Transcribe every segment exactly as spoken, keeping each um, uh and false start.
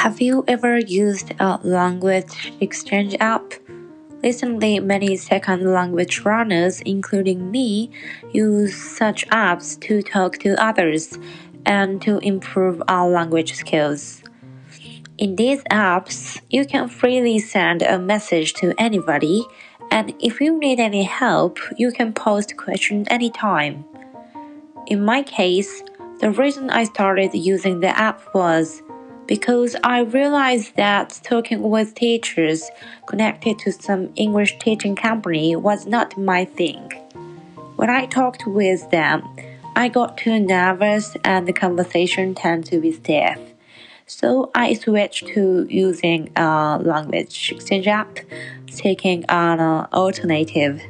Have you ever used a language exchange app? Recently, many second language learners, including me, use such apps to talk to others and to improve our language skills. In these apps, you can freely send a message to anybody, and if you need any help, you can post questions anytime. In my case, the reason I started using the app was because I realized that talking with teachers connected to some English teaching company was not my thing. When I talked with them, I got too nervous and the conversation tended to be stiff. So I switched to using a language exchange app, taking an uh, alternative.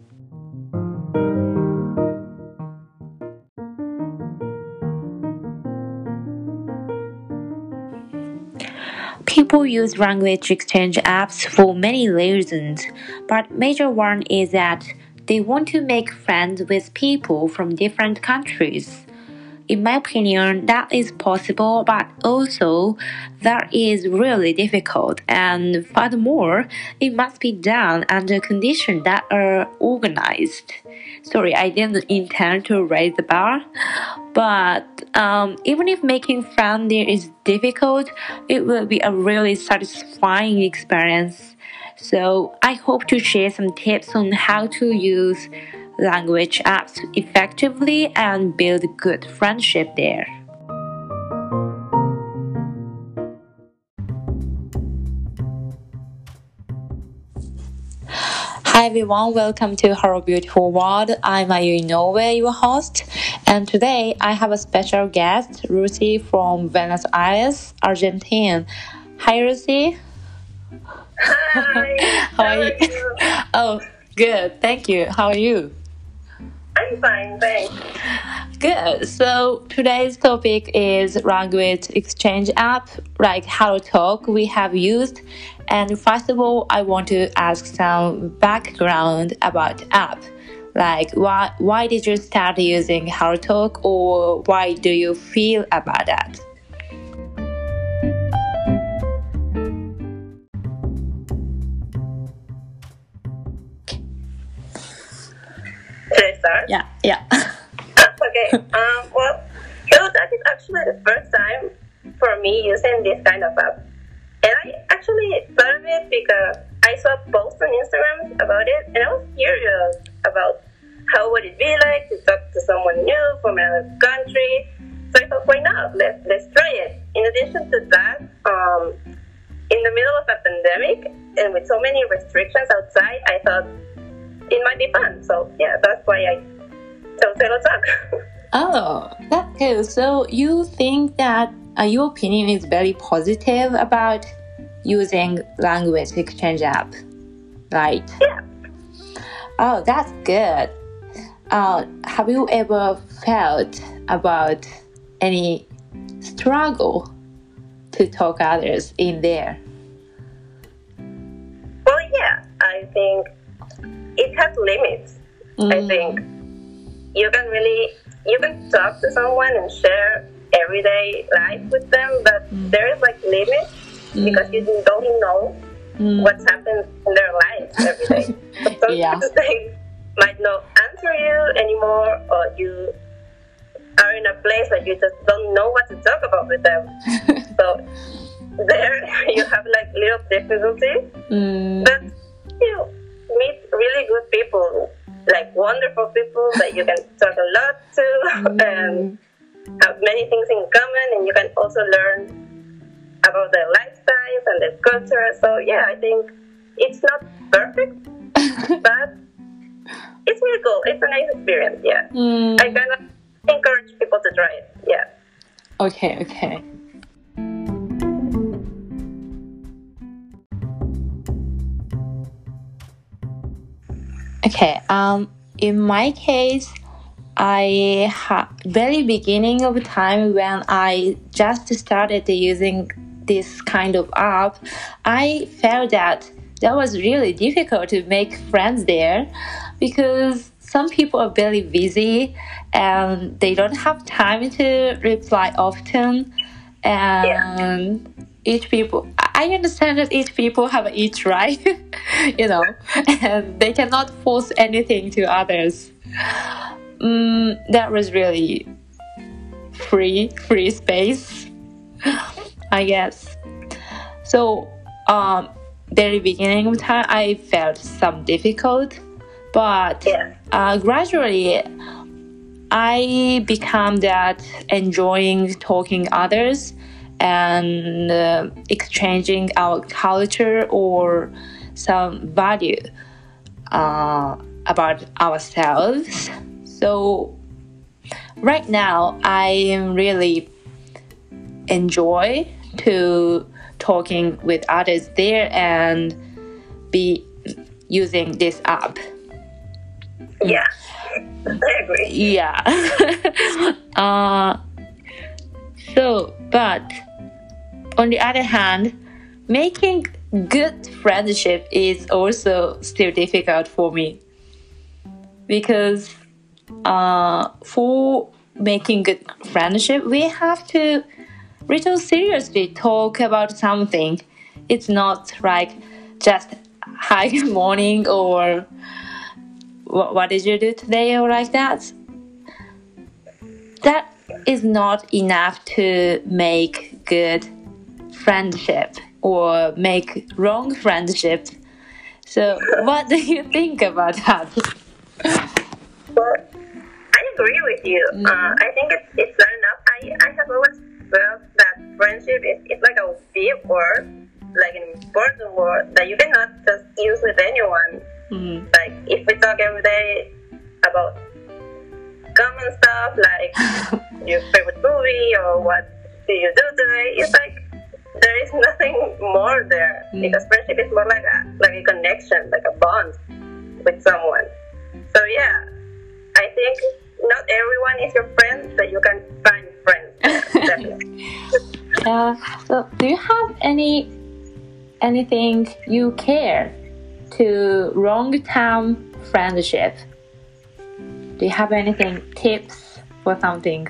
People use language exchange apps for many reasons, but major one is that they want to make friends with people from different countries. In my opinion, that is possible, but also that is really difficult, and furthermore, it must be done under conditions that are organized. Sorry, I didn't intend to raise the bar, but um, even if making friends there is difficult, it will be a really satisfying experience. So I hope to share some tips on how to use language apps effectively and build good friendship there. Hi everyone, welcome to Her Beautiful World. I'm Ayu Inoue, your host, and today I have a special guest, Lucy from Buenos Aires, Argentina. Hi Lucy. Hi. How are you? you? Oh, good. Thank you. How are you? I'm fine, thanks. Good. So today's topic is language exchange app, like HelloTalk we have used. And first of all, I want to ask some background about the app. Like why why did you start using HelloTalk, or why do you feel about that? Should I start? Yeah, yeah. Okay. Um, well, HelloTalk is actually the first time for me using this kind of app. And I actually thought of it because I saw posts on Instagram about it, and I was curious about how would it be like to talk to someone new from another country. So I thought, why not? Let's let's try it. In addition to that, um, in the middle of a pandemic and with so many restrictions outside, I thought it might be fun. So yeah, that's why I chose HelloTalk. Oh, that's good. So you think that uh, your opinion is very positive about using language exchange app, right? Yeah. Oh, that's good. Uh, have you ever felt about any struggle to talk others in there? Well, yeah, I think it has limits. Mm. I think you can really you can talk to someone and share everyday life with them, but Mm. there is like limits Mm. because you don't know Mm. what's happened in their lives every day. So sometimes Yeah. they might not answer you anymore, or you are in a place where you just don't know what to talk about with them. So there you have like little difficulties, Mm. but you meet really good people, like wonderful people that you can talk a lot to and have many things in common, and you can also learn about their lifestyles and their culture. So yeah, I think it's not perfect, but it's really cool. It's a nice experience. Yeah, Mm. I kind of encourage people to try it. Yeah. Okay, okay. Okay, um, in my case, I ha- very beginning of time when I just started using this kind of app, I felt that that was really difficult to make friends there because some people are very busy and they don't have time to reply often, and each people, I understand that each people have each right, you know, and they cannot force anything to others. Mm, that was really free, free space, I guess. So, um, very beginning of time, I felt some difficult, but Yeah. uh, gradually, I become that enjoying talking others and uh, exchanging our culture or some value uh, about ourselves. So right now, I really enjoy to talking with others there and be using this app. Yeah. I agree. Yeah. uh, so, but on the other hand, making good friendship is also still difficult for me, because uh, for making good friendship, we have to really seriously talk about something. It's not like just hi, good morning, or what, what did you do today, or like that. That is not enough to make good friendship or make wrong friendship. So what do you think about that? Well, I agree with you. Mm. Uh, I think it's, it's not enough. I, I have always felt that friendship is it's like a big word, like an important word that you cannot just use with anyone. Mm. Like if we talk every day about common stuff like your favorite movie or what do you do today, it's like there is nothing more there. Mm. Because friendship is more like a like a connection, like a bond with someone. So yeah, I think not everyone is your friend, but you can find friends. Definitely. Yeah. So do you have any anything you care to long-term friendship? Do you have anything tips for something?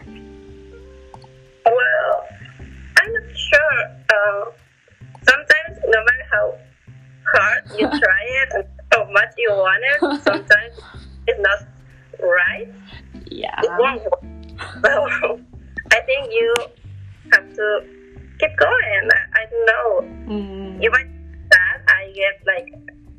Well, I'm not sure. Uh, sometimes, no matter how hard you try it and how much you want it, sometimes it's not right. Yeah. It won't work. So I think you have to keep going. I, I don't know. Mm. You might sad. I get like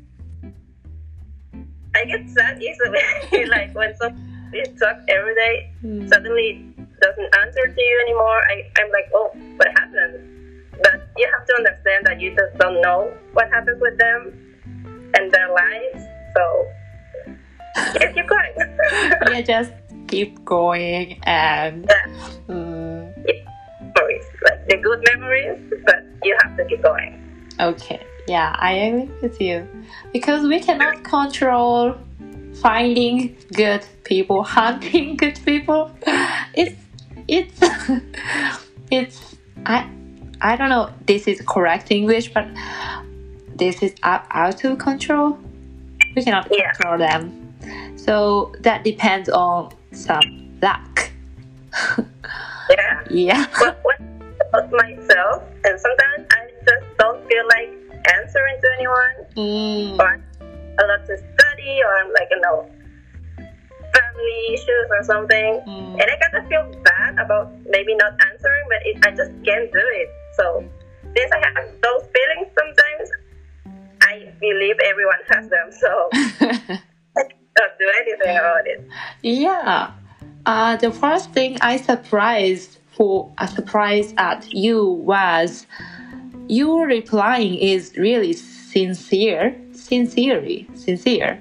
I get sad easily. Like when somebody talks every day, Mm. suddenly doesn't answer to you anymore. I, I'm like, oh, what happened? But you have to understand that you just don't know what happens with them and their lives. So yeah, keep going. Yeah, just keep going and Yeah. mm, Yeah. Memories, like the good memories, but you have to keep going. okay. Yeah, I agree with you, because we cannot control finding good people, hunting good people. It's it's it's I I don't know. This is correct English, but this is out, out of control. We cannot Yeah. control them, so that depends on some luck. Yeah. Yeah. But when about myself, and sometimes I just don't feel like answering to anyone, Mm. or a lot to study, or I'm like, you know, family issues or something, Mm. and I kind of feel bad about maybe not answering, but it, I just can't do it. So since I have those feelings sometimes, I believe everyone has them, so I don't do anything about it. Yeah. Uh, the first thing I surprised for a surprise at you was your replying is really sincere, sincerely, sincere.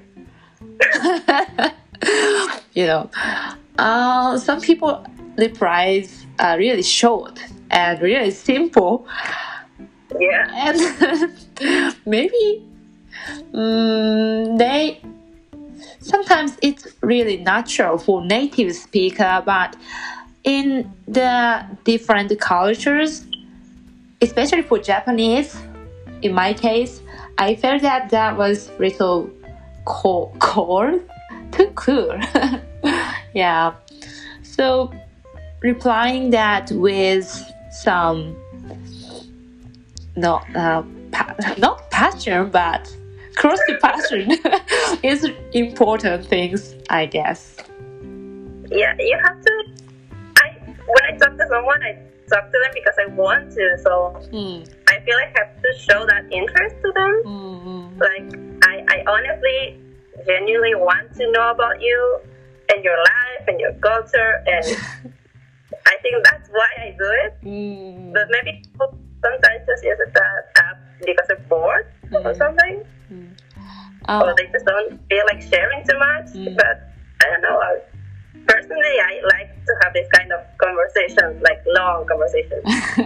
You know, uh, some people replies are really short and really simple, Yeah. and maybe um, they sometimes it's really natural for native speaker, but in the different cultures, especially for Japanese, in my case, I felt that that was little cold, cold too cool. Yeah. So replying that with some not uh, pa- not passion, but close to passion is important things, I guess. Yeah, you have to. I when I talk to someone, I talk to them because I want to. So Mm. I feel like I have to show that interest to them. Mm-hmm. Like I, I honestly, genuinely want to know about you and your life and your culture, and I think that's why I do it. Mm. But maybe people sometimes just use that app because they're bored Mm. or something, Oh. or they just don't feel like sharing too much. Mm. But I don't know. I, personally, I like to have this kind of conversations, like long conversations.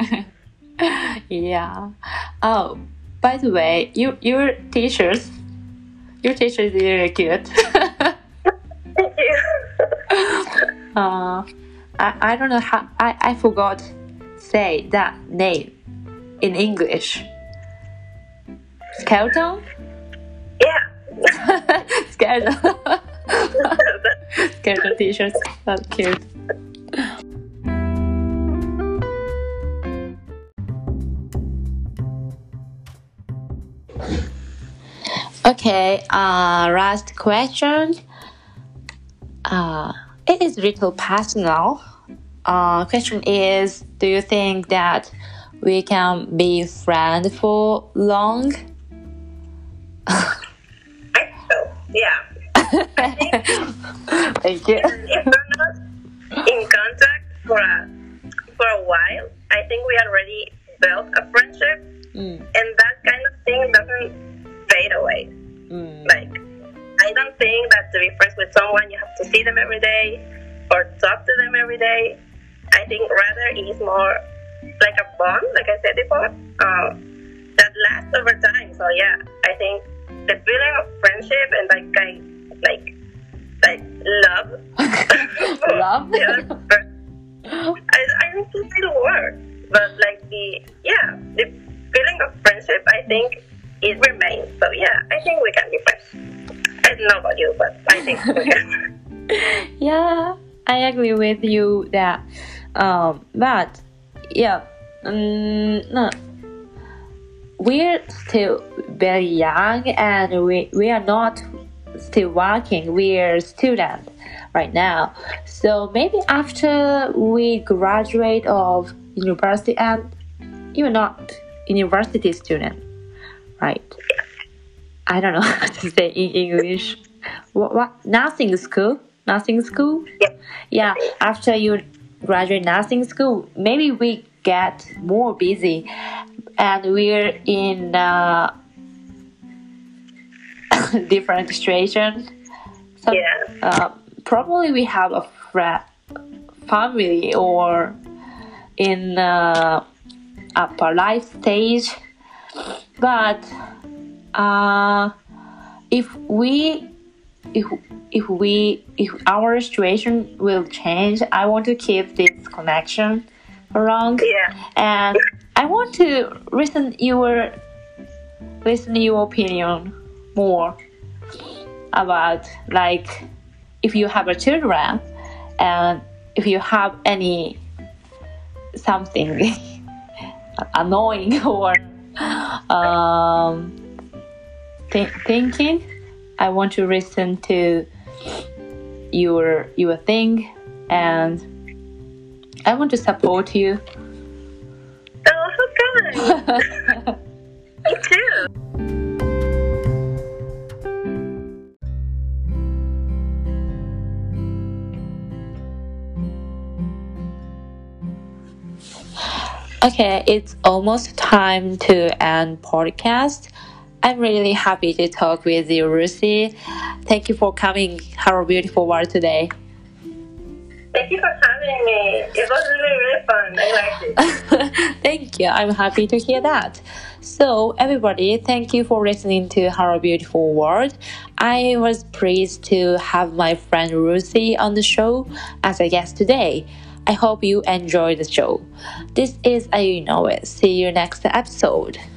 Yeah. Oh, by the way, you your teachers, your teacher is really good. Thank you. uh, I I don't know how I I forgot say that name in English. Skeleton. Yeah. Skeleton. Skeleton t-shirts. That's cute. Okay, uh, last question. Uh, it is little personal. Uh, question is, do you think that we can be friends for long? I think so. Yeah. Thank you. If we're not in contact for a for a while, I think we already built a friendship, Mm, and that kind of thing doesn't fade away. mm, Like, I don't think that to be friends with someone you have to see them every day or talk to them every day. I think rather it's more like a bond, like I said before, um, that lasts over time. So yeah, I think the feeling of friendship and like I like like love Love? the other person, I I don't think it'll work. But like the yeah, the feeling of friendship, I think it remains. So yeah, I think we can be friends. I don't know about you, but I think we can. Yeah, I agree with you that. Um, but yeah, um, no, we're still very young and we we are not still working. We're students right now, so maybe after we graduate of university, and you're not university student, right? I don't know how to say in English. What, what? Nursing school? Nursing school? Yeah. Yeah. After you graduate nursing school, maybe we get more busy, and we're in a different situation. So, Yeah. uh, probably we have a friend, family, or in uh, upper life stage, but uh, if we if if we if our situation will change, I want to keep this connection around, Yeah. and I want to listen your listen your opinion more about, like, if you have a children and if you have any something annoying or um, th- thinking, I want to listen to your your thing, and I want to support you. Oh, how kind. Me too. Okay, it's almost time to end podcast. I'm really happy to talk with you, Lucy. Thank you for coming Our Beautiful World today. Thank you for having me. It was really, really fun. I liked it. Thank you. I'm happy to hear that. So, everybody, thank you for listening to Our Beautiful World. I was pleased to have my friend Lucy on the show as a guest today. I hope you enjoyed the show. This is Ayu Know It. See you next episode.